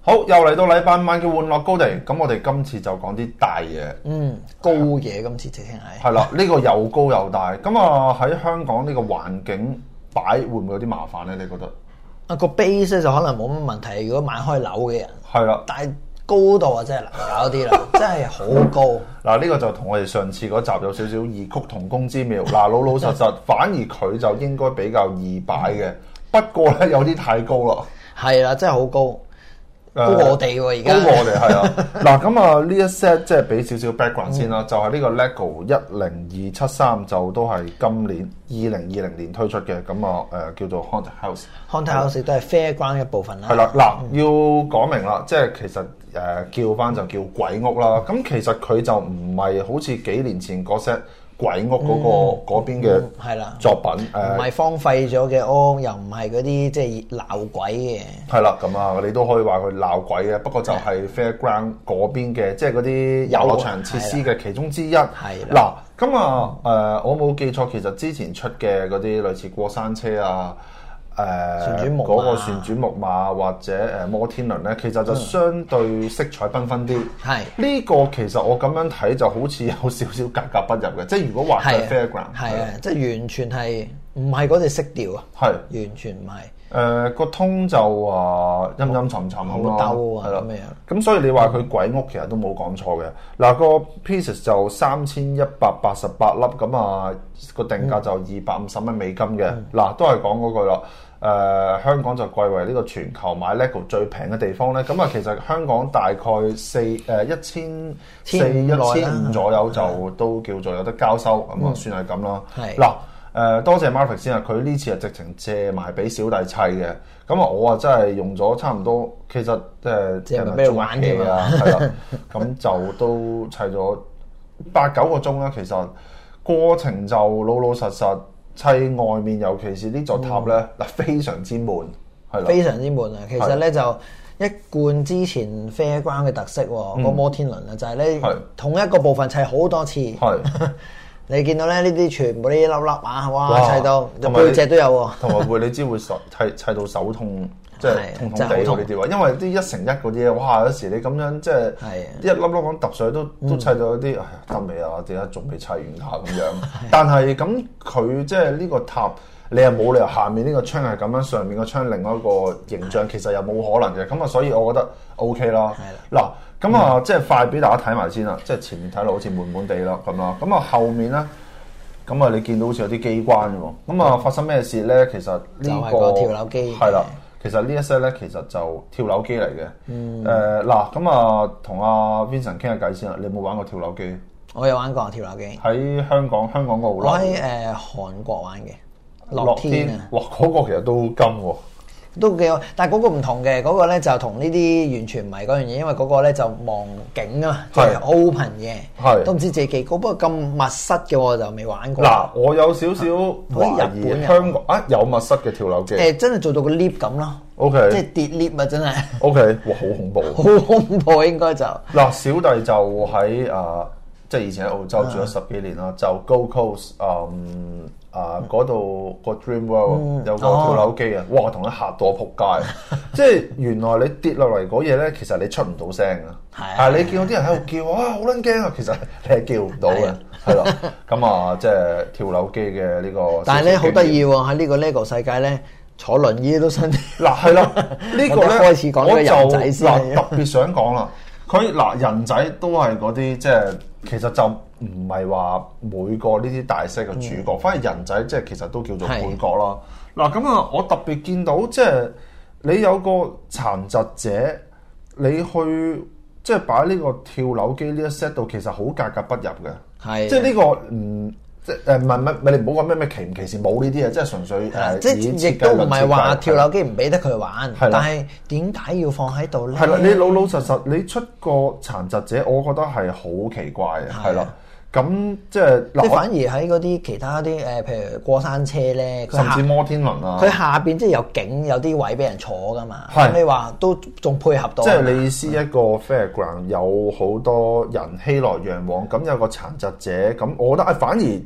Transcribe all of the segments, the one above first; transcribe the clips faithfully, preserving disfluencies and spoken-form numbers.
好，又嚟到禮拜五晚嘅玩樂高地，咁我哋今次就講啲大嘢， 嗯，高嘢今次直情係。 係啦，呢、這個又高又大，咁啊喺香港呢個環境擺會唔會有啲麻煩咧？你覺得？ 啊個 base 咧就可能冇乜問題，如果買開樓嘅人。 係啦， 但係高度啊真係難搞啲啦，真係好高。 嗱呢個就同我哋上次嗰集有少少異曲同工之妙。嗱老老實實，反而佢就應該比較易擺嘅，不過咧有啲太高啦。 係啦，真係好高。高過我哋喎而家， 高過我哋係啊！嗱咁啊呢一 set 即係俾少少 background 先啦，嗯、就係呢個 LEGO 一零二七三就都係今年二零二零年推出嘅，咁啊誒叫做 Haunted House。Haunted House 都係 Fairground 一部分啦。 係啦，嗱、嗯、要講明啦，即係其實誒、呃、叫翻就叫鬼屋啦。咁其實佢就唔係好似幾年前嗰 set。鬼屋嗰、那個嗰、嗯、邊嘅係啦作品，誒唔係荒廢咗嘅屋，又唔係嗰啲即係鬧鬼嘅。 係啦，咁啊，你都可以話佢鬧鬼嘅，不過就係 Fairground 嗰邊嘅，即係嗰啲遊樂場設施嘅其中之一。係嗱，咁啊誒，我冇記錯，其實之前出嘅嗰啲類似過山車啊。誒嗰、呃那個旋轉木馬或者誒摩天輪咧，其實就相對色彩繽紛啲。係呢、嗯、個其實我咁樣睇就好似有少少格格不入嘅，即係如果畫嘅 Fairground 係啊，即係完全係唔係嗰隻色調啊，係完全唔係。誒個通就話陰陰沉沉咁咯，係咯咁樣。咁所以你話佢鬼屋其實都冇講錯嘅。嗱、嗯、個 pieces 就三千一百八十八粒，咁啊個定價就二百五十蚊美金嘅。嗱、嗯、都係講嗰句啦。誒、呃、香港就貴為呢個全球買 LEGO 最平嘅地方咧，咁啊其實香港大概四誒一千四一千五左右就都叫做有得交收，咁啊、嗯、算係咁啦。嗱誒多謝 Marvick 先啊，佢呢次係直情借埋俾小弟砌嘅，咁啊我啊真係用咗差唔多，其實即係借埋俾佢玩嘅啊，係啦，咁就都砌咗八九個鐘啦。其實過程就老老實實。砌外面，尤其是呢座塔咧，嗱、嗯、非常之悶，係咯，非常之悶啊！其實咧就一貫之前 Fairground 嘅特色喎，嗯、個摩天輪啊，就係咧同一個部分砌好多次。係你見到咧呢啲全部呢粒粒啊，哇砌到就背脊都有喎，同埋會你知會手砌砌到手痛。即係痛痛地呢啲話，因為啲一乘一嗰啲嘢，哇！有時你咁樣即係一粒粒咁揼水都都砌到一啲，哎呀得未啊？點解仲未砌完下咁樣？但係咁佢即係呢個塔，你又冇理由下面呢個窗係咁樣，上面個窗另外一個形象，其實又冇可能嘅。咁啊，所以我覺得 OK 啦。嗱，咁啊，即係快俾大家睇埋先啦。即係前面睇落好似悶悶地啦咁啦。咁啊，後面咧，咁啊，你見到好似有啲機關喎。咁啊，發生咩事咧？其實呢個跳樓機係啦。其實呢一 set 咧，其實就跳樓機嚟嘅。嗯。誒嗱，咁啊，同阿 Vincent 傾下偈先啦。你有冇玩過跳樓機？ 我有玩過跳樓機。喺香港，香港嗰度。 我喺誒韓國玩嘅。樂天啊！ 哇，嗰個其實都金喎。 都幾好，但係嗰個唔同嘅，嗰、嗰個咧就同呢啲完全唔係嗰樣嘢，因為嗰個咧就望景啊，即係 open 嘅，都唔知自己幾高，不過咁密室嘅我就未玩過。 嗱，我有少少懷疑香港啊有密室嘅跳樓機，誒、 呃、真係做到個 lift 咁咯。 O K， 即係跌 lift 啊，真係。O K，哇，好恐怖， 好恐怖應該就。嗱， 小弟就喺啊，即係以前喺澳洲住咗十幾年啦，啊、就 Gold Coast，嗯。啊！嗰度個 Dream World、嗯、有個跳樓機啊！哦、哇！同佢嚇到我仆街，即係原來你跌落嚟嗰嘢咧，其實你出唔到聲啊！係啊！你見到啲人喺度叫，哇！好撚驚啊！其實你係叫唔到嘅，係咯。咁啊，即係跳樓機嘅呢個。但係咧好得意喎！喺呢個 LEGO 世界咧，坐輪椅都新。嗱係啦，呢個咧開始講呢個人仔先。嗱特別想講啦，佢嗱人仔都係嗰啲即係其實就。唔係話每個呢啲大 set 嘅主角，嗯、反而人仔即係其實都叫做配角啦。嗱咁啊，我特別見到即係你有個殘疾者，你去即係擺呢個跳樓機呢一 set 度，其實好格格不入嘅。係的，即係呢、呢個唔即係誒唔係唔係你唔好講咩咩歧唔歧視，冇呢啲嘢，即係純粹誒。即係亦都唔係話跳樓機唔俾得佢玩，的但係點解要放喺度咧？係啦，你老老實實你出個殘疾者，我覺得係好奇怪嘅，係啦。咁即係，即係反而喺嗰啲其他啲誒，譬如過山車咧，甚至摩天輪啊，佢下邊即係有景，有啲位俾人坐噶嘛。係你話都仲配合到。即係你意思一個 Fairground 有好多人熙來攘往，咁有個殘疾者，咁我覺得啊，反而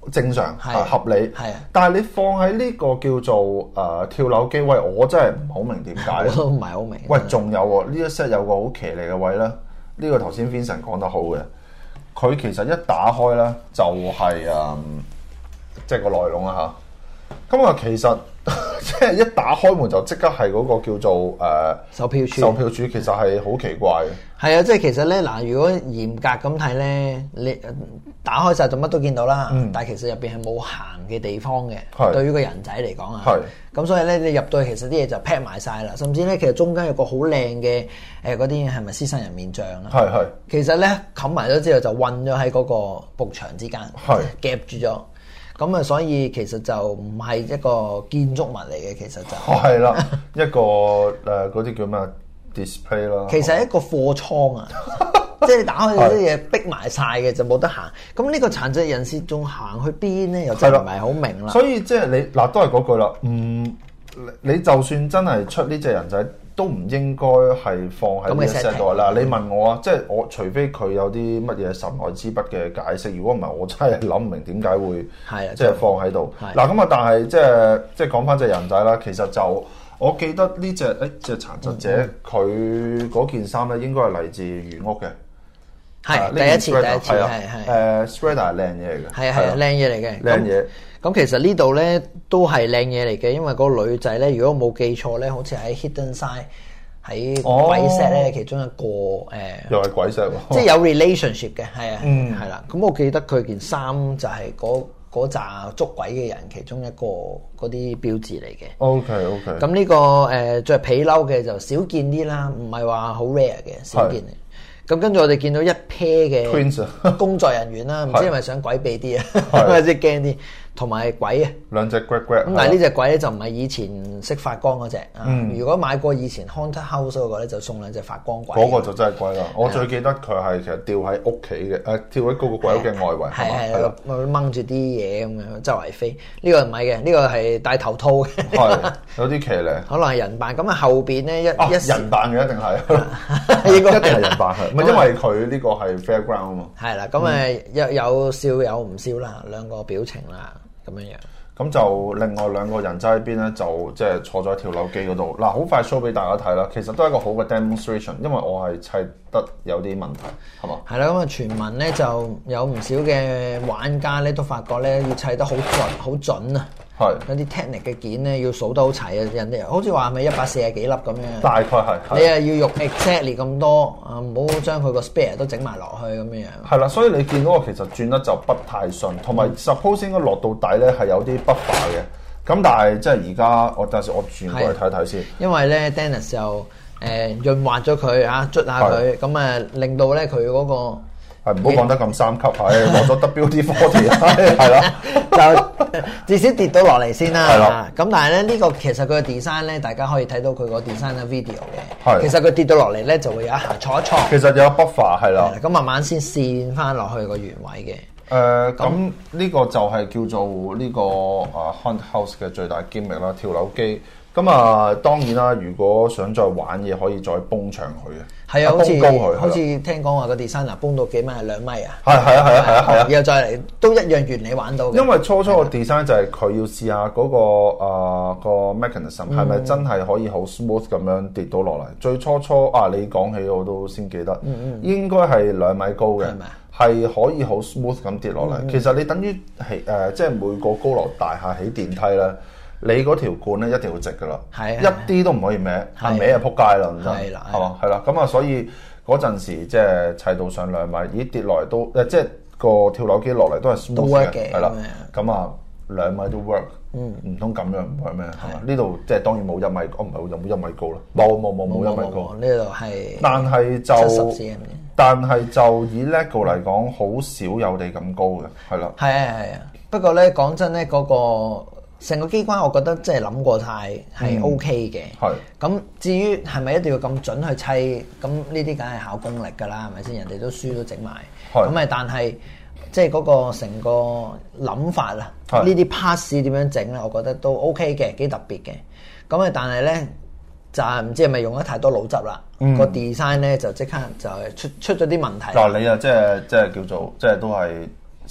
正常係合理， 係啊。 但係你放喺呢個叫做誒、呃、跳樓機，喂，我真係唔好明點解。 我都唔係好明。 喂，仲有喎，呢一 set 有個好騎呢嘅位咧，呢、呢個頭先 Vincent 講得好嘅，佢其實一打開咧就係、是、誒，即、嗯、係、就是、個內籠啦嚇。咁啊，其實即係一打開門就即刻係嗰個叫做誒、呃、 售票處。 售票處其實係好奇怪嘅。 係啊，即係其實咧嗱，如果嚴格咁睇咧，你打開晒就乜都見到啦。嗯、但係其實入邊係冇行嘅地方嘅。係。對於個人仔嚟講啊。係。咁所以咧，你入到去其實啲嘢就 pack 埋晒啦，甚至咧其實中間有個好靚嘅誒嗰啲係咪獅身人面像啦？係係。其實咧冚埋咗之後就韞咗喺嗰個幕牆之間，係夾住咗。咁啊，所以其實就唔係一個建築物嚟嘅，其實就係啦，一個誒嗰啲叫咩 display 啦。 其實係一個貨倉啊，即係你打開啲嘢逼埋晒嘅就冇得行。咁呢個殘疾人士仲行去邊咧？又真係唔係好明啦。 所以即係你嗱，都係嗰句啦。嗯，你就算真係出呢隻人仔，都唔應該係放喺呢一 set 度嗱。你問我啊，即係我除非佢有啲乜嘢神來之筆嘅解釋，如果唔係，我真係諗唔明點解會係即係放喺度。嗱咁啊，但係即係即係講翻隻人仔啦。其實就我記得呢隻誒隻殘疾者佢嗰件衫咧，應該係嚟自原屋嘅。 係第一次，第一次係係誒 Sweater 係靚嘢嚟嘅， 係係靚嘢嚟嘅， 靚嘢。 咁其實呢度咧都係靚嘢嚟嘅，因為嗰個女仔咧，如果冇記錯咧，好似喺 Hidden Side 喺鬼 set 咧，其中一個誒， 又係鬼 set 喎， 即係有 relationship 嘅，係啊，係啦。咁我記得佢件衫就係嗰嗰紮捉鬼嘅人其中一個嗰啲標誌嚟嘅。 OK OK。 咁呢個誒著皮褸嘅就少見啲啦，唔係話好 rare 嘅，少見。咁跟住我哋見到一 pair 嘅工作人員啦，唔知係咪想鬼避啲啊，或者驚啲，同埋鬼啊， 兩隻 grad grad。 咁但係呢隻鬼咧就唔係以前識發光嗰隻啊。如果買過以前 Haunted House 嗰個咧，就送兩隻發光鬼。 嗰個就真係鬼啦！我最記得佢係其實吊喺屋企嘅，誒吊喺嗰個鬼屋嘅外圍， 係係掹住啲嘢咁樣周圍飛。呢個唔係嘅，呢個係戴頭套嘅， 係有啲騎呢， 可能係人扮。咁啊後邊咧一一人扮嘅一定係，應該一定係人扮係，唔係因為佢呢個係 fairground 啊嘛。係啦， 咁誒有有笑有唔笑啦，兩個表情啦。咁樣樣， 咁就另外兩個人仔喺邊咧，就即係坐咗喺跳樓機嗰度。嗱，好快 show 俾大家睇啦。其實都係一個好嘅 demonstration，因為我係砌得有啲問題，係嘛？係啦，咁啊，傳聞咧就有唔少嘅玩家咧都發覺咧要砌得好準，好準啊！係有啲 technic 嘅件咧要數得好齊啊！人哋好似話係咪一百四十幾粒咁樣？大概係。你啊要用 exactly 咁多啊，唔好將佢個 spare 都整埋落去咁樣樣。係啦，所以你見到我其實轉得就不太順，同埋 suppose 應該落到底咧係有啲 buffer 嘅。咁但係即係而家我等陣時我轉過嚟睇睇先。因為咧 Dennis 就誒潤滑咗佢啊，捽下佢，咁啊令到咧佢嗰個。係唔好講得咁三級，係落咗 W D 四十，係啦，就至少跌到落嚟先啦。係啦，咁但係咧呢個其實佢個 design 咧，大家可以睇到佢個 design 嘅 video 嘅。係，其實佢跌到落嚟咧，就會有一下挫一挫。其實有 buffer 係啦，咁慢慢先線翻落去個原位嘅。誒，咁呢個就係叫做呢個啊 Haunted House 嘅最大 gimmick 啦，跳樓機。咁啊，當然啦，如果想再玩嘢，可以再崩長佢嘅。係啊，好似高佢，好似聽講話個 designer 崩到幾米啊，兩米啊。係係啊係啊係啊係啊！然後再嚟都一樣原理玩到。因為初初個 design 就係佢要試下嗰個啊個 mechanism 係咪真係可以好 smooth 咁樣跌到落嚟。最初初啊，你講起我都先記得，應該係兩米高嘅，係可以好 smooth 咁跌落嚟。其實你等於係誒，即係每個高樓大廈起電梯咧。你嗰條管咧一定要直噶啦，一啲都唔可以歪，係歪就撲街啦，真係，係嘛，係啦，咁啊，所以嗰陣時即係砌到上兩米，咦跌落嚟都誒，即係個跳樓機落嚟都係 smooth 嘅，係啦，咁啊兩米都 work，唔通咁樣唔 work 咩？係嘛？呢度即係當然冇一米，我唔係有冇一米高啦，冇冇冇冇一米高，呢度係，但係就但係就以 LEGO 嚟講，好少有地咁高嘅，係啦，係啊係啊，不過咧講真咧嗰個。成個機關我覺得即係諗過晒係 O K 嘅，係、嗯。咁至於係咪一定要咁準去砌？咁呢啲梗係考功力㗎啦，係咪先？人哋都書都整埋，咁咪但係即係嗰個成個諗法啊，呢啲 pass 點樣整咧？我覺得都 O K 嘅，幾特別嘅。咁啊，但係咧就係唔知係咪用得太多腦汁啦？嗯、個 design 咧就即刻就係出出咗啲問題。嗱，你啊即係即係叫做即係都係。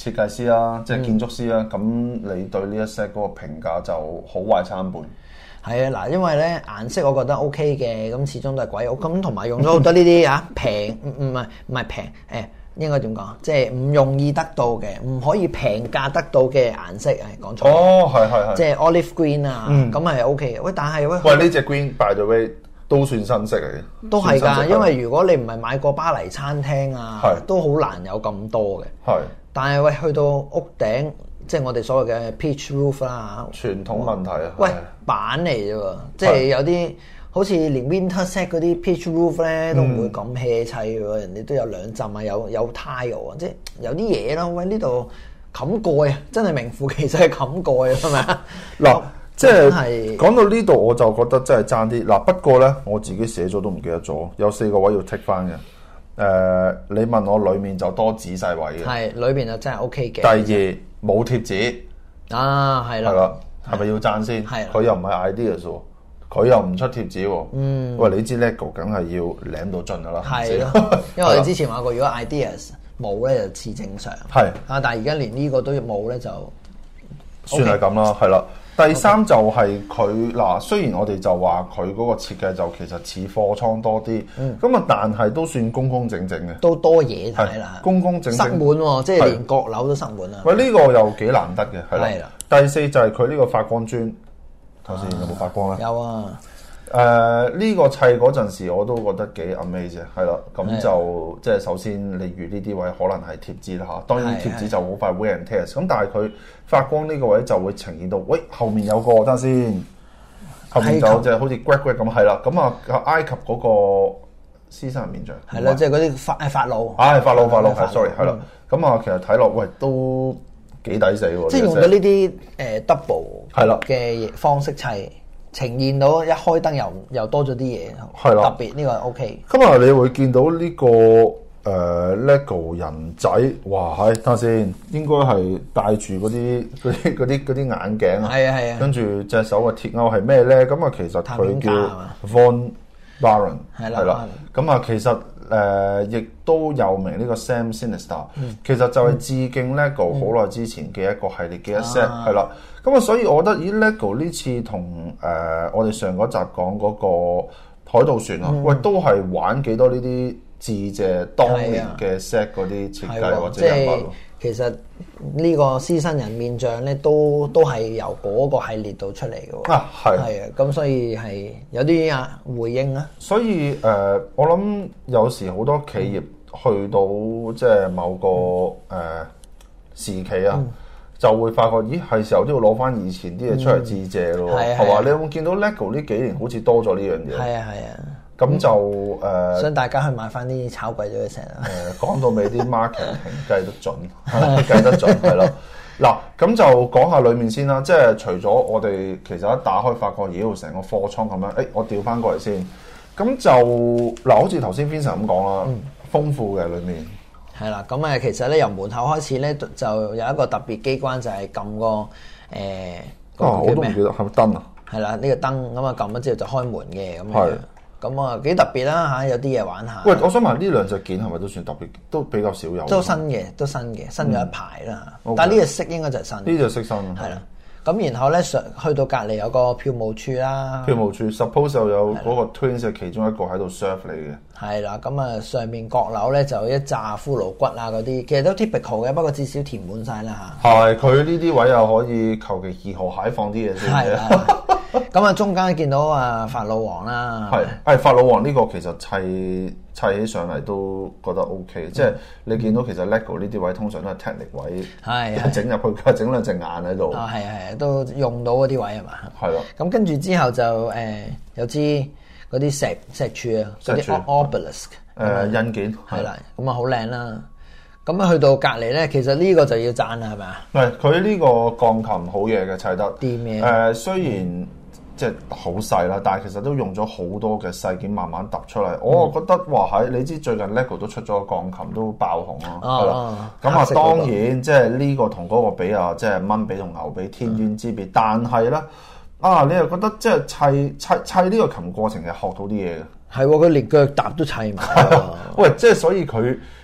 設計師啦，即係建築師啦，咁、嗯、你對呢一 set 嗰個評價就好壞參半。 係啊，嗱，因為咧顏色我覺得 OK 嘅，咁始終都係鬼屋，咁同埋用咗好多呢啲啊平，唔唔係唔係平，誒應該點講？即係唔容易得到嘅，唔可以平價得到嘅顏色，係講錯。 哦，係係係。 即係 olive green 啊，咁係 OK 嘅。喂，但係喂， 喂呢隻 green by the way 都算新色嚟嘅。 都係㗎，因為如果你唔係買過巴黎餐廳啊， 係都好難有咁多嘅。 係。 但係喂，去到屋頂。即係我哋所謂嘅 pitch roof 啦， 傳統問題啊！ 喂，板嚟啫喎，即係有啲好似連 Winterset 嗰啲 pitch roof 咧都唔會咁 hea 砌嘅喎，人哋都有兩浸啊，有有 tile 啊，即係有啲嘢咯。喂，呢度冚蓋啊，真係名副其實係冚蓋啊，係咪啊？ 嗱，即係講到呢度我就覺得真係爭啲。嗱，不過咧我自己寫咗都唔記得咗，有四個位要剔翻嘅。誒，你問我裡面就多仔細位嘅， 係裏邊就真係 OK 嘅。第二。冇貼紙啊，係啦， 係啦，係咪要讚先？係，佢又唔係 ideas 喎，佢又唔出貼紙喎。嗯，喂，你知 LEGO 梗係要舐到盡噶啦， 係咯，因為我哋之前話過，如果 ideas 冇咧就似正常，係啊，但係而家連呢個都冇咧就算係咁啦，係啦。第三就係佢嗱，雖然我哋就話佢嗰個設計就其實似貨倉多啲，咁啊，但係都算公公正正嘅， 都多嘢睇啦， 公公正正， 塞滿喎，即係連閣樓都塞滿啦。 喂，呢個又幾難得嘅，係啦。第四就係佢呢個發光磚，頭先有冇發光咧？ 有啊。 誒呢個砌嗰陣時我都覺得幾 amazing 係啦，咁就即係首先例如呢啲位可能係貼紙啦嚇，當然貼紙就好快 wear and tear，咁但係佢發光呢個位就會呈現到，喂後面有個等先，後面就即係好似 grad grad 咁係啦，咁啊埃及嗰個獅身人面像係啦，即係嗰啲法誒法老， 啊法老法老係 sorry 係啦，咁啊其實睇落喂都幾抵死喎， 即係用咗呢啲誒 double 係啦嘅方式砌。呈現到一開燈又又多咗啲嘢，係啦，特別呢個 OK。 今日你會見到呢、這個誒、呃、LEGO 人仔，哇！係睇下先，應該係戴住嗰啲嗰啲嗰啲嗰啲眼鏡啊， 係啊係啊， 跟住隻手嘅鐵鈎係咩咧？咁啊，其實佢叫 Von Braun 係啦，咁啊，其實誒亦、呃、都有名呢個 Sam Sinister，、嗯、其實就係致敬 LEGO 好耐之前嘅一個系列嘅一 set 係啦。咁啊，所以我覺得咦 LEGO 呢次同誒、呃、我哋上嗰集講嗰個海盜船啊，嗯、喂都係玩幾多呢啲致謝當年嘅 set 嗰啲設計或者人物。 其實呢個獅身人面像咧，都都係由嗰個系列度出嚟嘅喎。啊，係。係啊，咁所以係有啲啊回應啊。 所以誒、呃，我諗有時好多企業去到即係某個誒、呃、時期啊。嗯就會發覺，咦，係時候都要攞翻以前啲嘢出嚟致謝咯，係嘛、嗯？你有冇見到 LEGO 呢幾年好似多咗呢樣嘢？ 係啊係啊， 咁就誒，呃、 想大家去買翻啲炒貴咗嘅成啊！ 誒，講到尾啲 marketing 計得準，計得準係咯。嗱，咁就講下裡面先啦。即係除咗我哋其實一打開發覺，咦，成個貨倉咁樣，誒、欸，我調翻過嚟先。咁就嗱，好似頭先 Vincent 咁講啦，嗯、豐富嘅裡面。 係啦，咁誒其實咧由門口開始咧就有一個特別機關，就係撳個誒嗰個叫咩？我都唔記得係咪燈啊？係啦，呢個燈咁啊撳咗之後就開門嘅咁樣，咁啊幾特別啦嚇，有啲嘢玩下。喂， 我想問呢兩隻件係咪都算特別？都比較少有。 都新嘅，都新嘅，新咗一排啦。嗯、但係呢隻色應該就係新。呢隻色新。係啦。 咁然後咧上去到隔離有個票務處啦， 票務處 suppose 又有嗰個 Twins 嘅其中一個喺度 serve 你嘅。係啦，咁啊上面閣樓咧就一紮骷髏骨啊嗰啲，其實都 typical 嘅，不過至少填滿晒啦嚇。係， 佢呢啲位又可以求其二號蟹放啲嘢先。係啦， 咁啊中間見到啊法老王啦， 係，係法老王呢個其實砌砌起上嚟都覺得 OK，即係你見到其實 LEGO 呢啲位通常都係 technic 位，係整入去整兩隻眼喺度。 啊係係，都用到嗰啲位係嘛？係咯。咁跟住之後就誒有支嗰啲石石柱啊，嗰啲 obelisk 誒印件係啦，咁啊好靚啦。咁啊去到隔離咧，其實呢個就要讚啦，係咪啊？ 係佢呢個鋼琴好嘢嘅砌得。 啲咩？ 誒雖然即係好細啦，但係其實都用咗好多嘅細件慢慢揼出嚟。我啊覺得哇喺你知最近 LEGO 都出咗個鋼琴都爆紅啦，係啦。咁啊當然即係呢個同嗰個比啊，即係蚊比同牛比天淵之別。但係咧啊，你又覺得即係砌砌砌呢個琴過程係學到啲嘢嘅。 係喎，佢連腳踏都砌埋。 喂，即係所以佢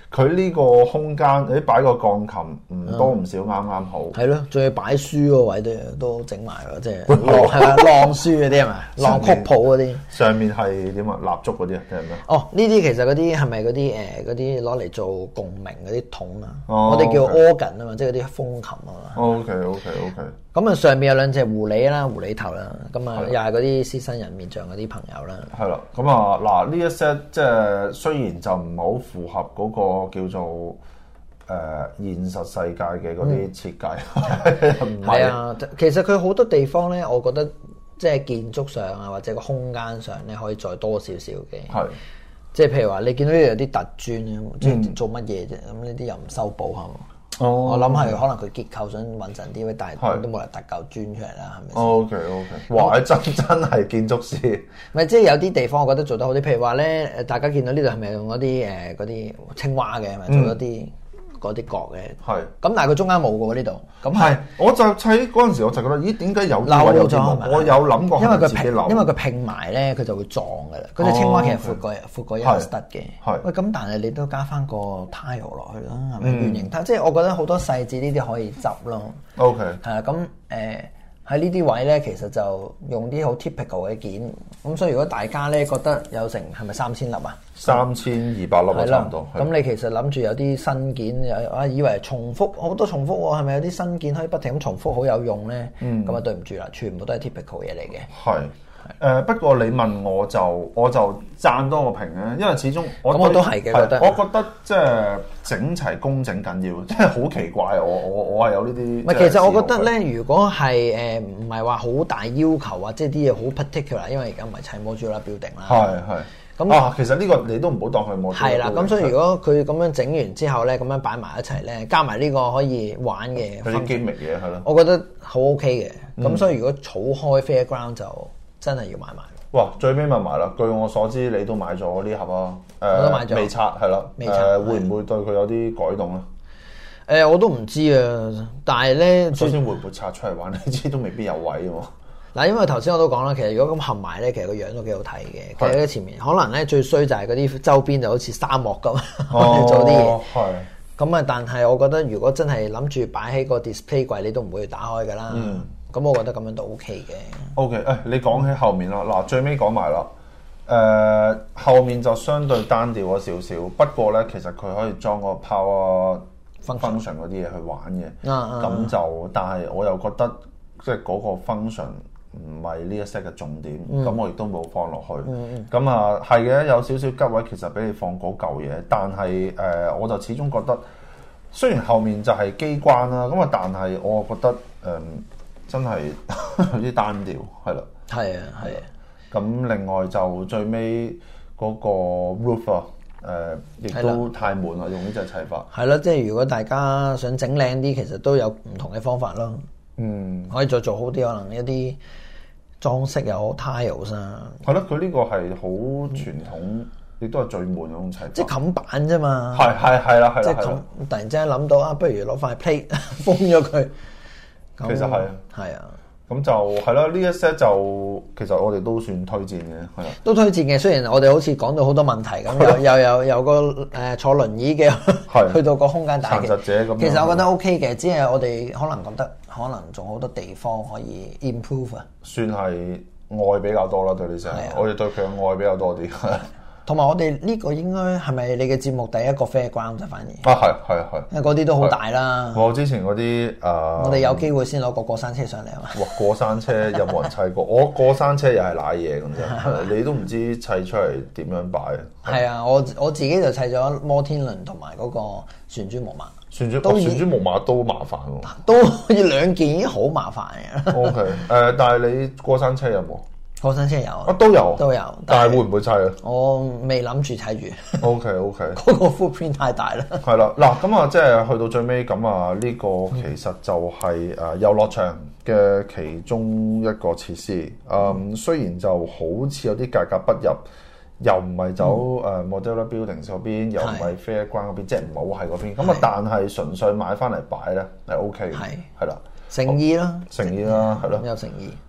佢呢個空間，你擺個鋼琴唔多唔少，啱啱好。 係咯，仲要擺書個位都都整埋咯，即係係咪晾書嗰啲係咪？晾曲譜嗰啲。上面係點啊？蠟燭嗰啲啊，定係咩？ 哦，呢啲其實嗰啲係咪嗰啲誒嗰啲攞嚟做共鳴嗰啲筒啊？ 哦、 我哋叫 okay. organ 啊嘛，即係嗰啲風琴啊嘛。 OK OK OK。 咁啊，上面有兩隻狐狸啦，狐狸頭啦，咁啊又係嗰啲獅身人面像嗰啲朋友啦。 係啦，咁啊嗱，呢一 set 即係雖然就唔係好符合嗰個叫做誒、呃、現實世界嘅嗰啲設計，唔係、 嗯、啊，其實佢好多地方咧，我覺得即係建築上啊，或者個空間上咧，可以再多少少嘅。係，即係譬如話，你見到呢度有啲突磚，即係做乜嘢啫？咁呢啲又唔修補係嘛？哦，我諗係可能佢結構想穩陣啲，但係都冇人突嚿磚出嚟啦，係咪先 ？O K O K，哇！真真係建築師。 咪即係有啲地方我覺得做得好啲，譬如話咧，誒大家見到呢度係咪用嗰啲誒嗰啲青蛙嘅，係咪做咗啲嗰啲角嘅？係。咁但係佢中間冇嘅喎呢度。咁係， 我就砌嗰陣時我就覺得，咦點解有漏咗？我有諗過， 因為佢拼，因為佢拼埋咧，佢就會撞嘅啦。嗰隻青蛙其實闊過闊過一個 stud 嘅。係。喂，咁但係你都加翻個 tile 落去啦，係咪圓形 tile？即係我覺得好多細節呢啲可以執咯。O K。係啊，咁誒。喺呢啲位咧，其實就用啲好 typical 嘅件，咁所以如果大家咧覺得有成係咪三千粒啊？ 三千二百粒啊，差唔多。 咁你其實諗住有啲新件，有啊以為重複好多重複喎，係咪有啲新件可以不停咁重複好有用咧？嗯，咁啊對唔住啦，全部都係 typical 嘢嚟嘅。係。誒、呃、不過你問我就我就讚多個評咧，因為始終我咁我都係嘅覺得，我覺得即係整齊工整緊要，即係好奇怪。我我我係有呢啲。唔係，其實我覺得咧，如果係誒唔係話好大要求啊，即係啲嘢好 particular，因為而家唔係砌 modular building 啦。係係。咁、嗯、啊，其實呢個你都唔好當佢 modular。係啦，咁所以如果佢咁樣整完之後咧，咁樣擺埋一齊咧，加埋呢個可以玩嘅，嗰啲機密嘢係咯，我覺得好 OK 嘅。咁、嗯、所以如果儲開 fairground 就真係要買埋。哇！最尾問埋啦，據我所知你都買咗呢盒啊？誒、呃，我都買咗。未拆係啦。未拆。誒、呃，會唔會對佢有啲改動咧？誒、呃，我都唔知啊。但係咧，首先會唔會拆出嚟玩？你知都未必有位喎。嗱，因為頭先我都講啦，其實如果咁合埋咧，其實個樣都幾好睇嘅。其實喺前面可能咧最衰就係嗰啲周邊就好似沙漠咁，哦、做啲嘢。係。咁啊，但係我覺得如果真係諗住擺喺個 display 櫃，你都唔會去打開㗎啦。嗯。咁我覺得咁樣都 OK 嘅。OK，誒，你講起後面啦，嗱，最尾講埋啦。誒、呃，後面就相對單調咗少少，不過咧，其實佢可以裝個 power function 嗰啲嘢去玩嘅。咁、啊、就，啊、但係我又覺得，即係嗰個 function 唔係呢一 set 嘅重點，咁、嗯、我亦都冇放落去。咁、嗯、啊，係嘅，有少少吉位，其實俾你放嗰嚿嘢，但係誒、呃，我就始終覺得，雖然後面就係機關啦，咁啊，但係我覺得誒。呃真係有啲單調，係啦。係啊，係啊。咁另外就最尾嗰個 roof 啊，誒，亦都太悶啦，用呢隻砌法。係啦，即係如果大家想整靚啲，其實都有唔同嘅方法咯。嗯，可以再做好啲，可能一啲裝飾又好 tiles 啊。係咯，佢呢個係好傳統，亦、嗯、都係最悶嗰種砌法。即係冚板啫嘛。係係係啦係啦。即係突然之間諗到啊，不如攞塊 plate 封咗佢。其實係啊，係啊，咁就係啦。呢一 set 就其實我哋都算推薦嘅，係啊，都推薦嘅。雖然我哋好似講到好多問題咁，又又有有個誒、呃、坐輪椅嘅，去到個空間大嘅殘疾者咁。其實我覺得 OK 嘅，只係我哋可能覺得可能仲好多地方可以 improve 啊。算係愛比較多啦，對你成，我哋對佢嘅愛比較多啲。同埋我哋呢個應該係咪你嘅節目第一個 fairground 啫？反而啊，係係係，因為嗰啲都好大啦。我之前嗰啲誒，我哋有機會先攞個過山車上嚟啊嘛。哇！過山車有冇人砌過？我過山車又係瀨嘢咁啫，你都唔知砌出嚟點樣擺。係啊，我我自己就砌咗摩天輪同埋嗰個旋轉木馬。旋轉都旋轉木馬都麻煩喎，都要兩件已經好麻煩嘅。O K，誒，但係你過山車有冇？過山車有啊，都有都有，但係會唔會砌啊？我未諗住砌住。O K O K，嗰個 footprint 太大啦。係啦，嗱咁啊，即係去到最尾咁啊，呢個其實就係誒遊樂場嘅其中一個設施。嗯，雖然就好似有啲格格不入，又唔係走誒 modular building 嗰邊，又唔係 fairground 嗰邊，即係唔好喺嗰邊。咁啊，但係純粹買翻嚟擺咧係 O K 嘅，係係啦，誠意啦，誠意啦，係咯，有誠意。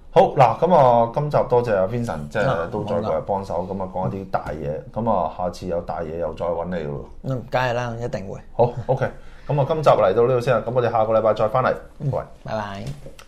好嗱，咁啊，今集多謝阿 Vincent， 即係都再過嚟幫手，咁啊講一啲大嘢，咁啊下次有大嘢又再揾你咯。 嗯，梗係啦，一定會。 好 ，OK，咁啊今集嚟到呢度先啦，咁我哋下個禮拜再翻嚟，喂， 拜拜。